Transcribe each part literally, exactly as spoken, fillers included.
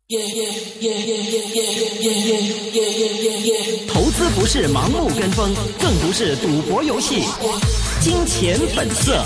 投资不是盲目跟风，更不是赌博游戏。金钱本色。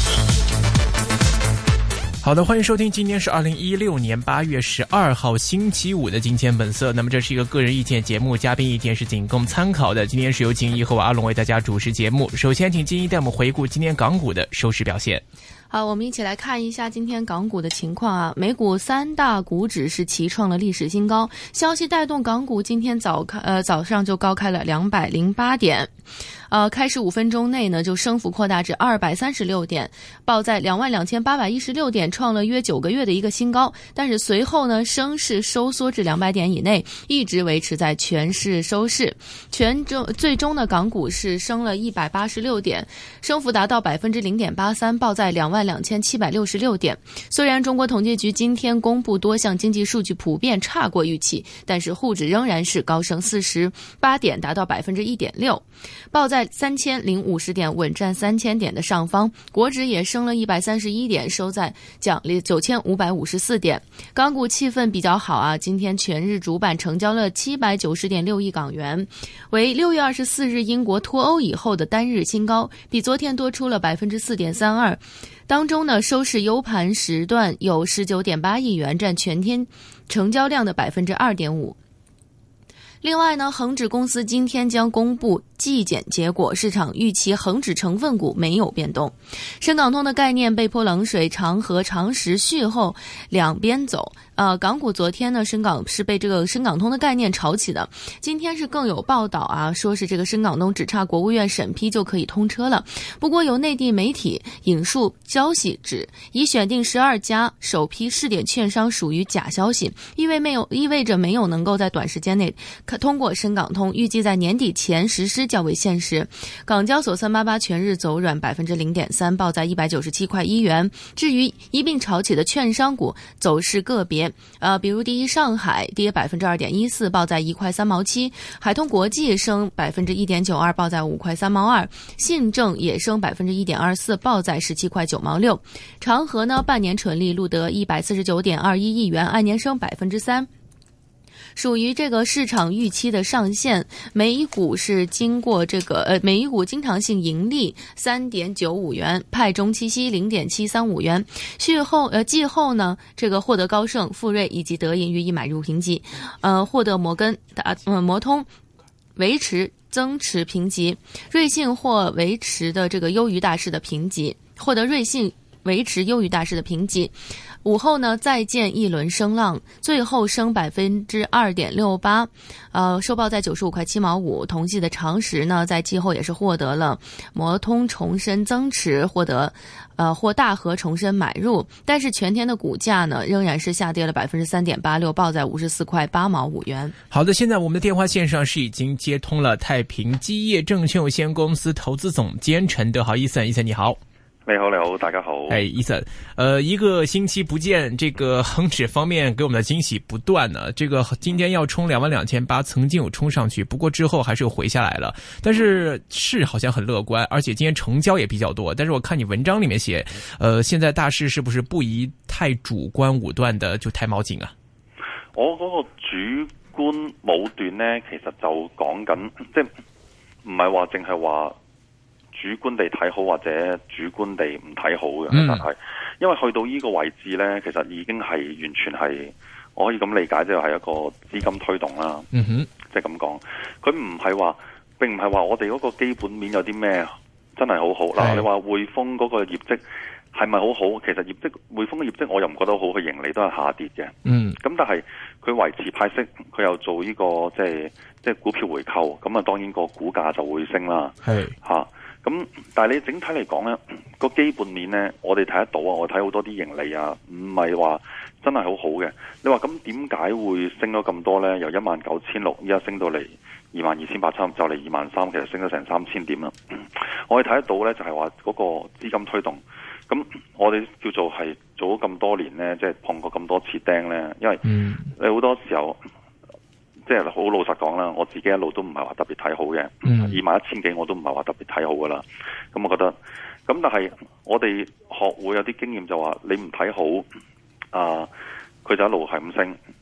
好的，欢迎收听，今天是二零一六年八月十二号星期五的金钱本色。那么这是一个个人意见节目，嘉宾意见是仅供参考的。今天是由金一和我阿龙为大家主持节目。首先请金一带我们回顾今天港股的收市表现。 好，我们一起来看一下今天港股的情况啊。美股三大股指是齐创了历史新高，消息带动港股今天早开呃早上就高开了两百零八点。呃，开始五分钟内呢，就升幅扩大至二百三十六点，报在两万两千八百一十六点，创了约九个月的一个新高。但是随后呢，升势收缩至两百点以内，一直维持在全市收市。全中最终呢，港股是升了一百八十六点，升幅达到百分之零点八三，报在两万两千七百六十六点。虽然中国统计局今天公布多项经济数据普遍差过预期，但是沪指仍然是高升四十八点，达到百分之一点六，报在三千零五十点，稳占三千点的上方。国指也升了一百三十一点，收在奖励九千五百五十四点。港股气氛比较好啊，今天全日主板成交了七百九十点六亿港元，为六月二十四日英国脱欧以后的单日新高，比昨天多出了百分之四点三二。当中呢，收市优盘时段有十九点八亿元，占全天成交量的百分之二点五。另外呢，恒指公司今天将公布季检结果，市场预期恒指成分股没有变动。深港通的概念被泼冷水，长和长实续后两边走。呃，港股昨天呢，深港是被这个深港通的概念炒起的。今天是更有报道啊，说是这个深港通只差国务院审批就可以通车了。不过有内地媒体引述消息指，已选定十二家首批试点券商属于假消息，意味没有意味着没有能够在短时间内通过深港通，预计在年底前实施较为现实。港交所三八八全日走软百分之零点三，报在一百九十七块一元。至于一并炒起的券商股走势个别，呃，比如第一上海跌百分之二点一四，报在一块三毛七；海通国际升百分之一点九二，报在五块三毛二；信正也升百分之一点二四，报在十七块九毛六。长和呢，半年纯利录得一百四十九点二一亿元，按年升百分之三。属于这个市场预期的上限，每股是经过这个呃每股经常性盈利三点九五元，派中期息零点七三五元。续后呃季后呢，这个获得高盛、富瑞以及德银予以买入评级，呃获得摩根大呃摩通维持增持评级，瑞信或维持的这个优于大市的评级，获得瑞信维持优于大市的评级。午后呢，再见一轮升浪，最后升百分之二点六八，呃，收报在九十五块七毛五。同系的长实呢，在季后也是获得了摩通重申增持，获得呃或大和重申买入，但是全天的股价呢，仍然是下跌了百分之三点八六，报在五十四块八毛五元。 好的，现在我们的电话线上是已经接通了太平基业证券有限公司投资总监陈德豪，伊森，伊森你好。 你好，你好，大家好。 哎，伊森，呃，一个星期不见，这个恒指方面给我们的惊喜不断呢。这个今天要冲两万两千八，曾经有冲上去，不过之后还是有回下来了。但是市好像很乐观，而且今天成交也比较多。但是我看你文章里面写，呃，现在大市是不是不宜太主观武断的就太冒進啊？ 我嗰個主觀武斷呢，其實就講緊，即係唔係話淨係話。主觀地睇好或者主觀地唔睇好嘅，但係因為去到呢個位置呢，其實已經係完全係我可以咁理解，即係係一個資金推動啦。嗯哼，即係咁講，佢唔係話並唔係話我哋嗰個基本面有啲咩真係好好嗱。你話匯豐嗰個業績係咪好好？其實業績匯豐嘅業績我又唔覺得好，佢盈利都係下跌嘅。嗯，咁但係佢維持派息，佢又做呢個即係即係股票回購，咁啊當然個股價就會升啦。係嚇。咁，但係你整體嚟講咧，個基本面咧，我哋睇得到啊，我睇好多啲盈利啊，唔係話真係好好嘅。你話咁點解會升咗咁多咧？由一萬九千六，依家升到嚟二萬二千八，差唔多就嚟二萬三，其實升咗成三千點啦。我哋睇得到咧，就係話嗰個資金推動。咁我哋叫做係做咗咁多年咧，即係碰過咁多次釘咧，因為你好多時候。即係好老實講啦，我自己一路都唔係話特別睇好嘅，二萬一千幾我都唔係話特別睇好噶啦。咁我覺得，咁但係我哋學會有啲經驗就話，你唔睇好啊，佢就一路係咁升。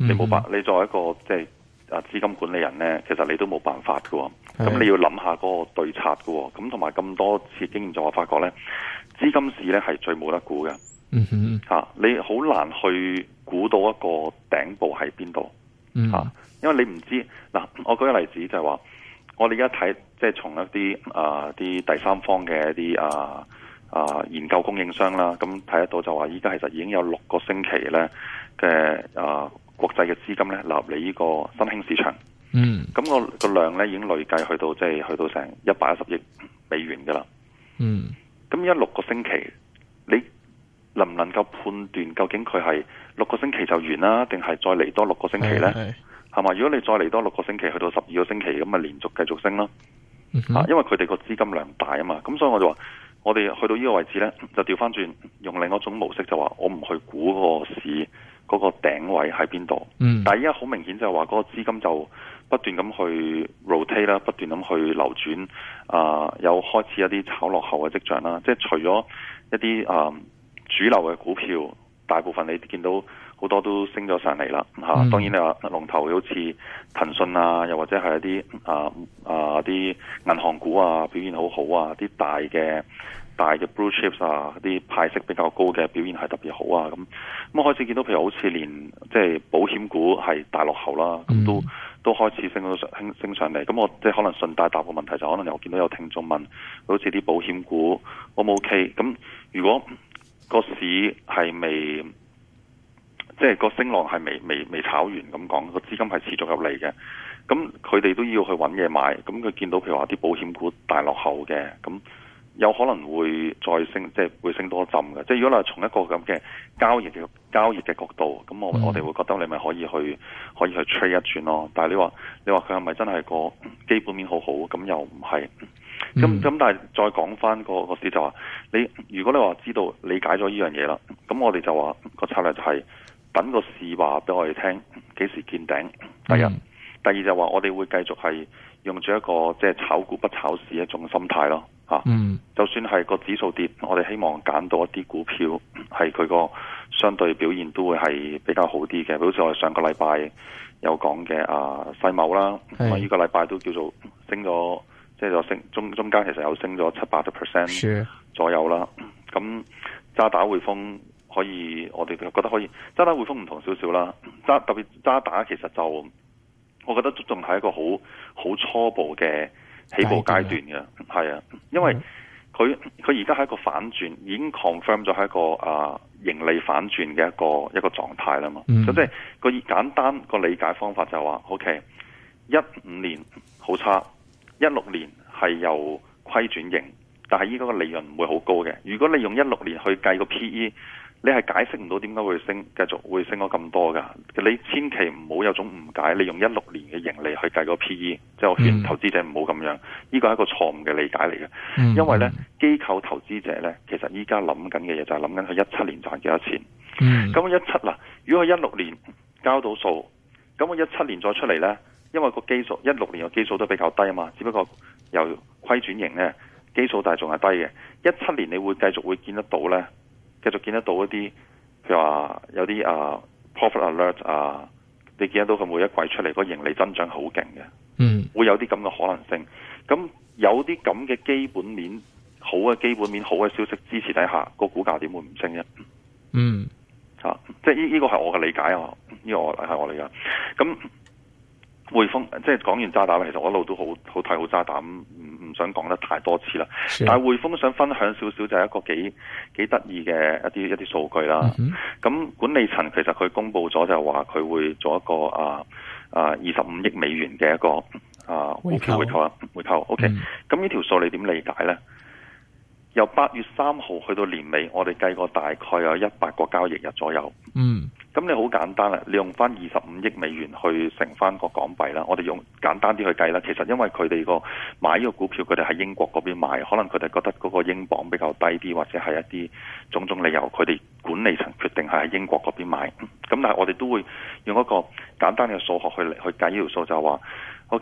你冇辦，你作為一個即係啊資金管理人咧，其實你都冇辦法㗎喎。咁是你要諗下嗰個對策㗎喎。咁同埋咁多次經驗就我發覺咧，資金市咧係最冇得估嘅。 嗯哼， 嚇、啊，你好難去估到一個頂部喺邊度嚇，因為你唔知嗱。我舉個例子就係話，我哋而家睇即係從一啲啊啲第三方嘅一啲啊啊研究供應商啦，咁睇得到就話依家其實已經有六個星期咧嘅啊國際嘅資金咧流入嚟呢個新興市場。 嗯， 咁、那個個量咧已經累計去到即係去到成一百一十億美元噶啦。 嗯， 咁依家六個星期你能唔能夠判斷究竟佢係六個星期就完啦，定係再嚟多六個星期呢？係嘛？如果你再嚟多六個星期，去到十二個星期，咁咪連續繼續升咯。嗯、啊，因為佢哋個資金量大啊嘛，咁所以我就話，我哋去到呢個位置呢，就調翻轉用另一種模式，就話我唔去估嗰個市嗰個頂位喺邊度。嗯，但係依家好明顯就係話嗰個資金就不斷咁去 rotate 啦，不斷咁去流轉，啊、呃，有開始一啲炒落後嘅跡象啦。即係除咗一啲啊。呃主流嘅股票，大部分你見到好多都升咗上嚟啦嚇。嗯、當然你話龍頭好似騰訊啊，又或者係一啲啊啊啲銀行股啊表現好好啊，啲大嘅大嘅 blue chips 啊，啲派息比較高嘅表現係特別好啊。咁咁開始見到譬如好似連即係保險股係大落後啦，咁、嗯、都都開始升到上升升上嚟。咁我即係可能順帶答個問題，就可能又見到有聽眾問，好似啲保險股 O 唔 OK？咁如果個市係未，即係個升浪係未未未炒完咁講，個資金係持續入嚟嘅。咁佢哋都要去揾嘢買。咁佢見到譬如話啲保險股大落後嘅，咁有可能會再升，即係會升多一陣嘅。即係如果你係從一個咁嘅交易嘅交易嘅角度，咁我、嗯、我哋會覺得你咪可以去可以去 trade 一轉咯。但係你話你話佢係咪真係個基本面好好？咁又唔係。咁咁、嗯、但係再講翻個個市就話，你如果你話知道理解咗呢樣嘢啦，咁我哋就話個策略就係等個市話俾我哋聽幾時見頂。第一，嗯、第二就話我哋會繼續係用住一個即係炒股不炒市一種心態咯嚇。嗯，就算係個指數跌，我哋希望揀到一啲股票係佢個相對表現都會係比較好啲嘅。好似我哋上個禮拜有講嘅啊世茂啦，咁啊呢個禮拜都叫做升咗。即係就升中中間其實有升咗七八個 percent 左右啦。咁渣打匯豐可以，我哋覺得可以。渣打匯豐唔同少少啦。渣特別渣打其實就，我覺得仲係一個好好初步嘅起步階段嘅。係啊，因為佢佢而家係一個反轉，已經 confirm 咗係一個啊盈利反轉嘅一個一個狀態啦嘛。咁、嗯、即係個簡單個理解方法就係話 ，OK， 一五年好差。一六年係由虧轉盈，但係依家個利潤唔會好高嘅。如果你用一六年去計個 P E， 你係解釋唔到點解會升，繼續會升咗咁多㗎。你千祈唔好有種誤解，你用一六年嘅盈利去計個 P E， 即係我勸投資者唔好咁樣。呢個係一個錯誤嘅理解嚟嘅，嗯、因為呢機構投資者呢，其實依家諗緊嘅嘢就係諗緊佢一七年賺幾多錢。咁一七嗱，如果佢一六年交到數，咁我一七年再出嚟呢。因為個基數一六年嘅基數都比較低啊嘛，只不過由虧轉盈咧，基數但係仲係低嘅。一七年你會繼續會見得到咧，繼續見得到一啲，譬如話有啲啊 profit alert 啊，你見得到佢每一季出嚟個盈利增長好勁嘅，嗯，會有啲咁嘅可能性。咁有啲咁嘅基本面好嘅基本面好嘅消息支持底下，個股價點會唔升啫？嗯，啊，即係呢呢個係我嘅理解啊，呢、這個係我理解。咁匯豐即係講完渣打啦，其實我一路都好好睇好渣打，唔唔想講得太多次啦。是但係匯豐想分享少少，就係一個幾幾得意嘅一啲一啲數據啦。咁、嗯、哼管理層其實佢公布咗就係話佢會做一個啊啊二十五億美元嘅一個啊股票回購啊回購。OK，咁呢條數你點理解咧？由八月三號去到年尾，我哋計過大概有一百個交易日左右。嗯。咁你好簡單啦，你用翻二十五億美元去乘翻個港幣啦。我哋用簡單啲去計啦。其實因為佢哋個買呢個股票，佢哋喺英國嗰邊買，可能佢哋覺得嗰個英鎊比較低啲，或者係一啲種種理由，佢哋管理層決定係喺英國嗰邊買。咁但係我哋都會用一個簡單嘅數學去去計呢條數，就係話 OK。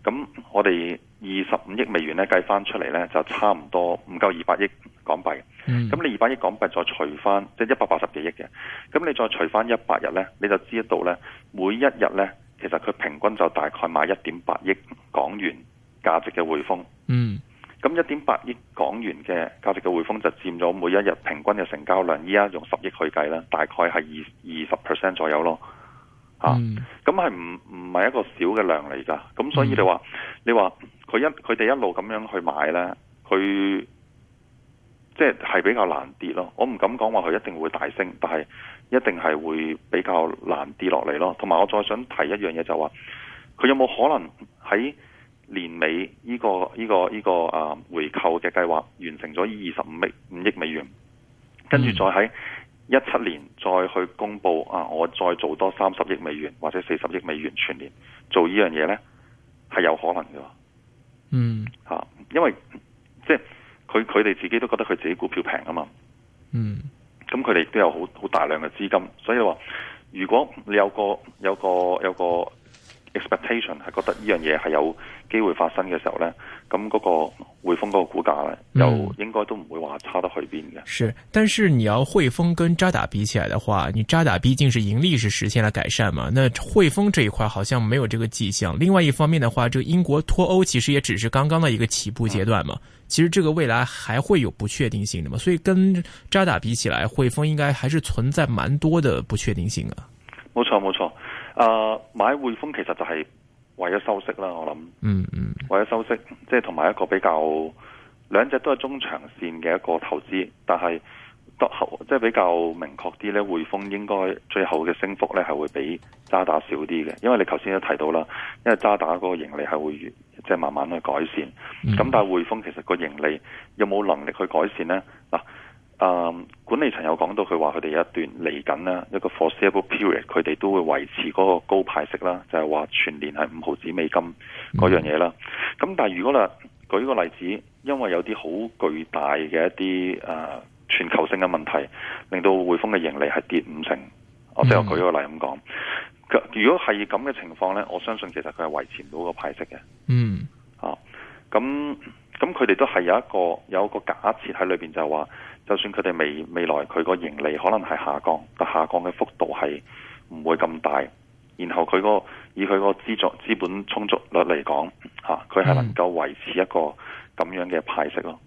咁我哋二十五億美元咧計翻出嚟咧，就差唔多唔夠二百億港幣。咁、嗯、你二百億港幣再除翻，即係一百八十幾億嘅。咁你再除翻一百日咧，你就知道咧，每一日咧，其實佢平均就大概買一點八億港元價值嘅匯豐。 嗯。 咁一點八億港元嘅價值嘅匯豐就佔咗每一日平均嘅成交量，依家用十億去計啦，大概係二二十 percent 左右咯。嚇、嗯，咁係唔唔係一個小嘅量嚟㗎？咁所以你話、嗯、你話佢一佢哋一路咁樣去買咧，佢即係係比較難跌咯。我唔敢講話佢一定會大升，但係一定係會比較難跌落嚟咯。同埋我再想提一樣嘢就話，佢有冇可能喺年尾呢、這個呢、這個呢、這個啊回購嘅計劃完成咗二十五億五億美元，跟住再喺一七年再去公布啊，我再做多三十億美元或者四十億美元全年做呢樣嘢呢，係有可能嘅。 嗯， 吓、啊，因為即係佢佢哋自己都覺得佢自己股票平啊嘛。嗯，咁佢哋亦都有好好大量嘅資金，所以話如果你有個有個有個 expectation 係覺得呢樣嘢係有機會發生嘅時候呢，咁嗰個匯豐嗰個股價呢，又應該都唔會話差得去邊嘅。 是，但是你要匯豐跟渣打比起來的話，你渣打畢竟是盈利是實現了改善嘛，那匯豐這一塊好像沒有這個跡象。另外一方面的話，這個英國脫歐其實也只是剛剛的一個起步階段嘛，嗯、其實這個未來還會有不確定性的嘛，所以跟渣打比起來，匯豐應該還是存在蠻多的不確定性啊。 冇錯冇錯。誒、uh, 買匯豐其實就係為咗收息啦，我諗，嗯嗯，為咗收息，即係同埋一個比較兩隻都係中長線嘅一個投資，但係即係比較明確啲咧，匯豐應該最後嘅升幅咧係會比渣打少啲嘅，因為你頭先都提到啦，因為渣打嗰個盈利係會即係、就是、慢慢去改善，咁、嗯、但係匯豐其實個盈利有冇能力去改善咧？嗱。誒、嗯，管理層有講到佢話佢哋有一段嚟緊啦，一個 foreseeable period，佢哋都會維持嗰個高派息啦，就係、是、話全年係五毫子美金嗰樣嘢啦。咁、嗯、但係如果啦，舉個例子，因為有啲好巨大嘅一啲誒、呃、全球性嘅問題，令到匯豐嘅盈利係跌五成，我即係我舉個例咁講。如果係咁嘅情況咧，我相信其實佢係維持唔到個派息嘅。嗯，啊，咁咁佢哋都係有一個有一個假設喺裏邊，就係話。就算佢哋未未來佢個盈利可能係下降，但下降嘅幅度係唔會咁大。然後佢個以佢個資助資本充足率嚟講，嚇佢係能夠維持一個咁樣嘅派息咯。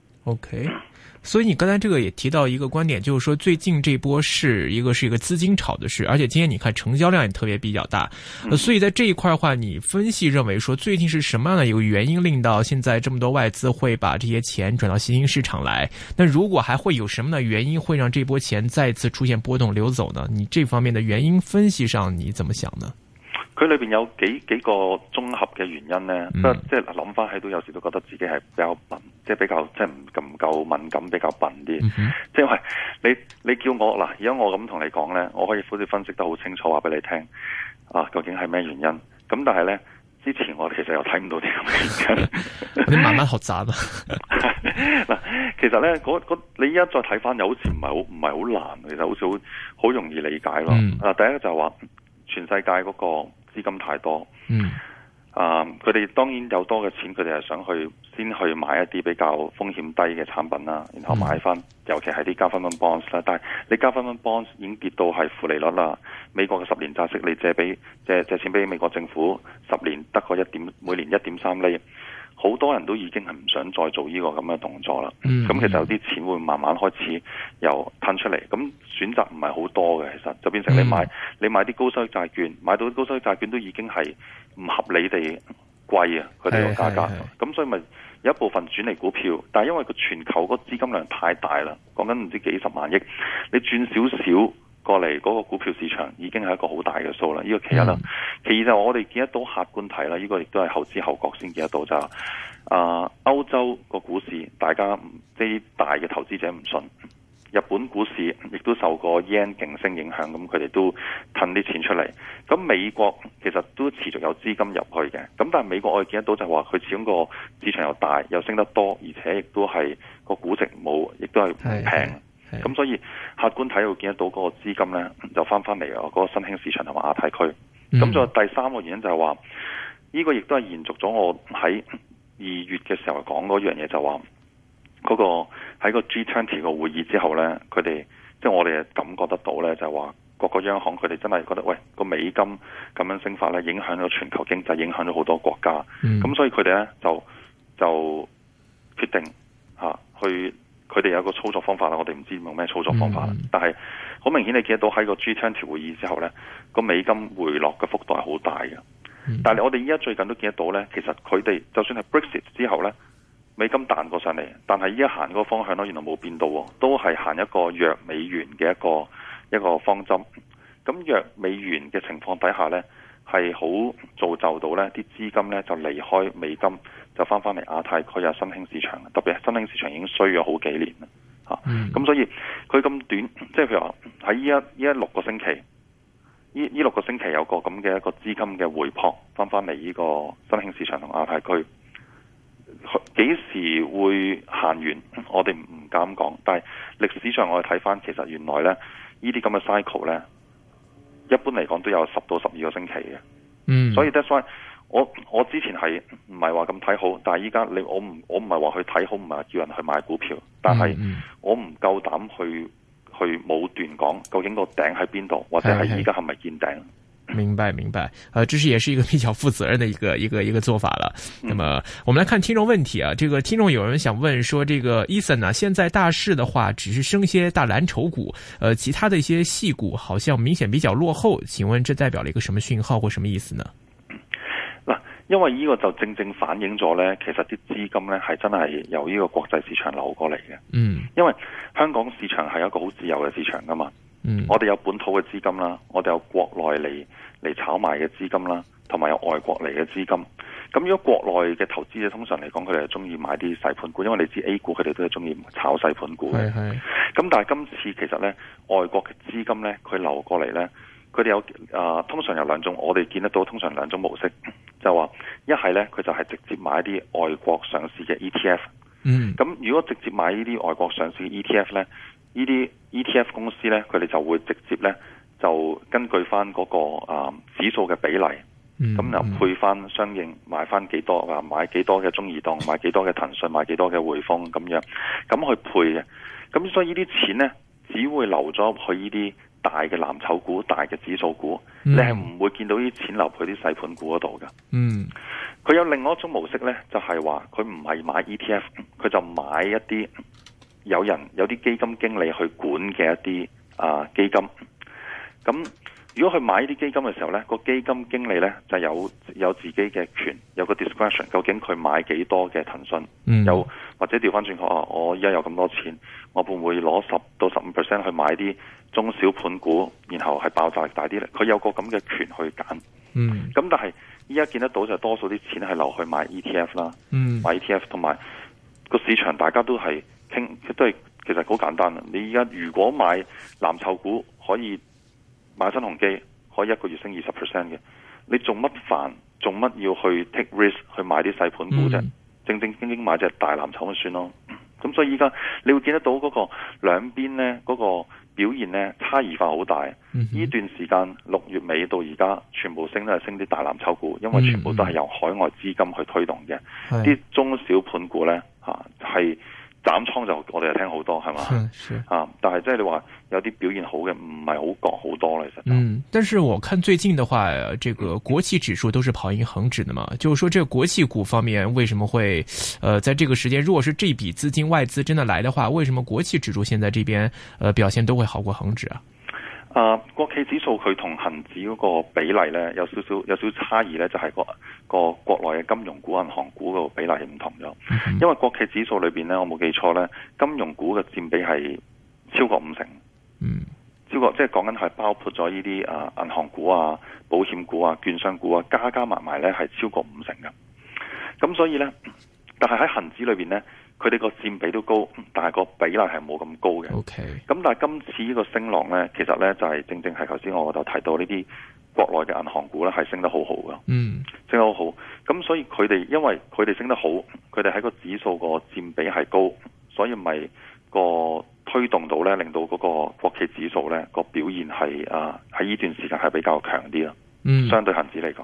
OK，所以你剛才這個也提到一個觀點，就是說最近這波是一個是一個資金炒的事，而且今天你看成交量也特別比較大，嗯、所以在這一塊的話，你分析認為說最近是什麼樣的一個原因令到現在這麼多外資會把這些錢轉到新興市場來？那如果還會有什麼的原因會讓這波錢再次出現波動流走呢？你這方面的原因分析上你怎麼想呢？ 佢裏邊有幾幾個綜合嘅原因咧，不過即係諗翻起都有時都覺得自己係比較笨，即係比較即係唔咁夠敏感，比較笨啲。嗯、即係因為你你叫我嗱，而家我咁同你講咧，我可以好似分析得好清楚，話俾你聽啊，究竟係咩原因？咁但係咧，之前我其實又睇唔到啲咁嘅原因。 你慢慢學習啊。 嗱，其實咧，嗰嗰你依家再睇翻，又好似唔係好唔係好難，其實好似好好容易理解咯。嗯、啊，第一個就係話全世界嗰個資金太多，嗯，啊，佢哋當然有多嘅錢，佢哋係想去先去買一啲比較風險低嘅產品啦，然後買翻，嗯、尤其係啲 government bonds 啦。但係你 government bonds 已經跌到係負利率啦，美國嘅十年債息你借俾借借錢俾美國政府，十年得個一點每年一點三厘。好多人都已經係唔想再做呢個咁嘅動作啦。咁、嗯、其實有啲錢會慢慢開始又褪出嚟。咁選擇唔係好多嘅，其實就變成你買、嗯、你買啲高收益債券，買到啲高收益債券都已經係唔合理地貴啊！佢哋個價格。咁所以咪有一部分轉嚟股票，但係因為個全球個資金量太大啦，講緊唔知幾十萬億，你轉少少過嚟嗰個股票市場已經係一個好大嘅數啦。呢、這個其一啦，嗯、其二就我哋見得到客觀睇啦，呢、這個亦都係後知後覺先見得到就係啊，歐洲個股市大家即係大嘅投資者唔信，日本股市亦都受個 yen 勁升影響，咁佢哋都褪啲錢出嚟。咁美國其實都持續有資金入去嘅，咁但係美國我哋見得到就係話佢始終個市場又大又升得多，而且亦都係個估值冇，亦都係唔平。咁所以客觀睇會見得到嗰個資金咧就翻翻嚟啊，嗰個新興市場同埋亞太區。咁再、嗯、第三個原因就係話呢個亦都係延續咗我喺二月嘅時候講嗰樣嘢，就話嗰個喺個 G 二十 個會議之後呢，佢哋即係我哋感覺得到呢，就係話各個央行佢哋真係覺得喂個美金咁樣升法呢，影響咗全球經濟，影響咗好多國家。咁、嗯、所以佢哋呢，就就決定嚇、啊、去，佢哋有個操作方法啦。我哋唔知用咩操作方法，嗯、但係好明顯你見得到喺個 G 二十 會議之後呢，個美金回落嘅幅度係好大嘅。嗯、但係我哋依家最近都見得到呢，其實佢哋就算係 Brexit 之後呢，美金彈過上嚟，但係依家行嗰個方向呢，原來冇變到，都係行一個弱美元嘅一個一個方針。咁弱美元嘅情況底下呢，係好造就到呢啲資金呢就離開美金，就翻翻嚟亞太區啊新興市場，特別係新興市場已經衰咗好幾年啦嚇。咁、嗯啊、所以佢咁短，即係譬如話喺依一依一六個星期。呢呢六個星期有個咁嘅一個資金嘅回撲，翻翻嚟呢個新興市場同亞太區，幾時會行完？我哋唔敢講。但係歷史上我哋睇翻，其實原來咧呢啲咁嘅 cycle 咧，一般嚟講都有十到十二個星期嘅。嗯，所以 that's why 我我之前係唔係話咁睇好，但係依家你我唔我唔係話去睇好，唔係叫人去買股票，但係我唔夠膽去。去武斷講究竟個頂喺邊度，或者係依家係咪見頂？ 明白明白，呃，這是也是一個比較負責任的一個一個一個做法了。嗯、那麼我們來看聽眾問題啊，這個聽眾有人想問說，這個 Ethan 啊，現在大市的話只是升些大藍籌股，呃，其他的一些細股好像明顯比較落後，請問這代表了一個什麼訊號或什麼意思呢？ 因為呢個就正正反映咗呢，其實啲資金呢係真係由呢個國際市場流過嚟嘅。嗯，因為香港市場係一個好自由嘅市場噶嘛。嗯，我哋有本土嘅資金啦，我哋有國內嚟嚟炒賣嘅資金啦，同埋有外國嚟嘅資金。咁如果國內嘅投資者通常嚟講，佢哋係中意買啲細盤股，因為你知 A 股佢哋都係中意炒細盤股嘅。係係。咁但係今次其實呢，外國嘅資金呢，佢流過嚟呢。佢哋有啊、呃，通常有兩種，我哋見得到通常兩種模式，就話一係呢，佢就係直接買一啲外國上市嘅 E T F。嗯，咁如果直接買呢啲外國上市嘅 E T F 呢，呢啲 E T F 公司呢，佢哋就會直接呢，就根據翻嗰、那個啊、呃、指數嘅比例，咁又、嗯、配翻相應買翻幾多啊，買幾多嘅中移動，買幾多嘅騰訊，買幾多嘅匯豐咁樣，咁去配嘅。咁所以呢啲錢呢，只會流咗去呢啲大嘅藍籌股、大嘅指數股，嗯、你係唔會見到啲錢流去啲細盤股嗰度嘅。嗯，佢有另外一種模式呢，就係話佢唔係買 E T F， 佢就買一啲有人有啲基金經理去管嘅一啲啊基金。咁如果佢買呢啲基金嘅時候呢，個基金經理呢就有有自己嘅權，有個 discretion， 究竟佢買幾多嘅騰訊，嗯、有或者調翻轉講，我依家有咁多錢，我會唔會攞十到十五 percent 去買啲中小盤股，然後係爆炸力大啲咧？佢有個咁嘅權去揀。嗯，咁但係依家見得到就多數啲錢係流去買 E T F 啦。嗯，買 E T F 同埋個市場大家都係傾，都係其實好簡單啊！你依家如果買藍籌股可以買新鴻基，可以一個月升二十 percent 嘅，你做乜煩？做乜要去 take risk 去買啲細盤股啫？嗯、正正經經買隻大藍籌就算咯。咁所以依家你會見得到嗰個兩邊呢嗰、嗰個表現呢差異化好大。呢、嗯、哼段時間六月尾到而家，全部升都係升啲大藍籌股，因為全部都係由海外資金去推動嘅。啲、嗯、中小盤股呢，嚇係斬倉就我哋係聽好多係嘛？啊，但係即係你話有啲表現好嘅唔係好覺好多啦，其實。 嗯，但是我看最近的話，這個國企指數都是跑贏恒指的嘛，就是說這個國企股方面為什麼會，呃，在這個時間，如果是這筆資金外資真的來的話，為什麼國企指數現在這邊，呃，表現都會好過恒指啊？ 啊，國企指數佢同恒指嗰個比例咧有少少有少少差異咧，就係、是、個個國內嘅金融股、銀行股個比例係唔同咗。嗯、哼因為國企指數裏邊咧，我冇記錯咧，金融股嘅佔比係超過五成。嗯，超過即係講緊係包括咗呢啲啊銀行股啊、保險股啊、券商股啊，加加埋埋咧係超過五成嘅。咁所以咧，但係喺恒指裏邊咧，佢哋個佔比都高，但係個比例係冇咁高嘅。OK。咁但係今次呢個升浪咧，其實咧就係、是、正正係頭先我就提到呢啲國內嘅銀行股咧係升得好好噶。嗯，升得好好。咁所以佢哋因為佢哋升得好，佢哋喺個指數個佔比係高，所以咪個推動到咧，令到嗰個國企指數咧個表現係啊喺呢段時間係比較強啲啦。嗯，相對恒指嚟講。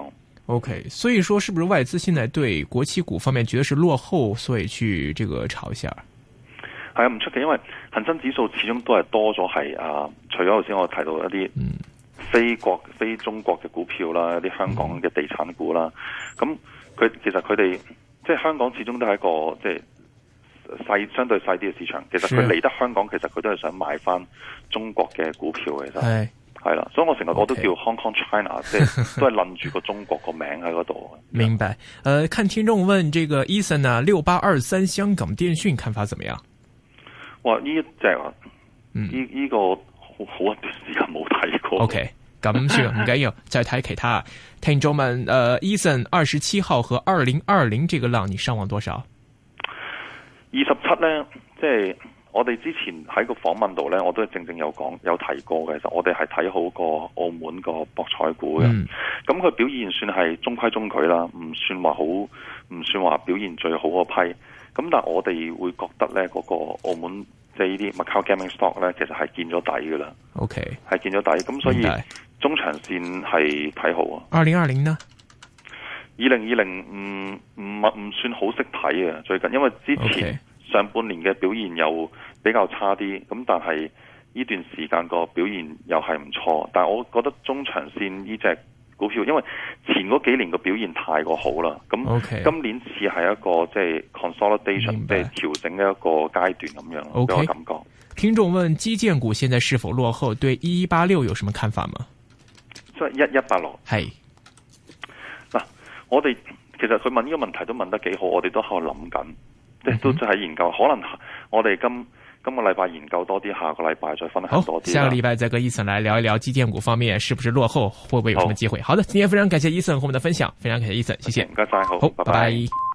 OK， 所以說是不是外資現在對國企股方面覺得是落後，所以去這個炒一下？ 係啊，唔出奇，因為恒生指數始終都係多咗係啊，除咗頭先我提到一啲非國、嗯、非中國嘅股票啦，一啲香港嘅地產股啦，咁佢、嗯、其實佢哋即係香港始終都係一個即係細相對細啲嘅市場，其實佢嚟得香港，其實佢都係想買翻中國嘅股票嘅，其實係啦，所以我成日我都叫 Hong Kong China， 即係都係諗住個中國個名喺嗰度。 明白。呃，看聽眾問這個 Ethan 啊，六八二三香港電訊看法怎麼樣？ 哇，呢一隻啊，呢呢、嗯、個好好一段時間冇睇過。 OK，咁算唔緊要，再睇其他聽眾問。呃 Ethan 二十七號和二零二零這個浪，你上望多少？ 二十七咧，即係。我哋之前喺個訪問度咧，我都係正正有講有提過嘅。其實我哋係睇好個澳門個博彩股嘅，咁佢、嗯、表現算係中規中矩啦，唔算話好，唔算話表現最好嗰批。咁但係我哋會覺得咧，嗰、嗰個澳門即係呢啲 Macau Gaming Stock 咧，其實係見咗底噶啦。OK， 係見咗底，咁所以中長線係睇好啊。二零二零呢？二零二零唔唔唔算好識睇啊，最近因為之前。Okay. 上半年嘅表現又比較差啲，咁但係呢段時間個表現又係唔錯，但係我覺得中長線呢隻股票，因為前嗰幾年個表現太過好啦，咁今年似係一個即係 consolidation，即係調整嘅一個階段咁樣，俾、okay. 我感覺。 聽眾問基建股現在是否落後？對一一八六有什麼看法嗎？ 即係一一八六係嗱，我哋其實佢問呢個問題都問得幾好，我哋都喺度諗緊。即係都在研究，可能我哋今今個禮拜研究多啲，下個禮拜再分享多啲。 下個禮拜再跟 Ethan 來聊一聊基建股方面是不是落後，會不會有什麼機會？好，好的，今天非常感謝 Ethan 和我們的分享，非常感謝 Ethan，謝謝。 唔該晒，好， 好，拜拜。 拜拜。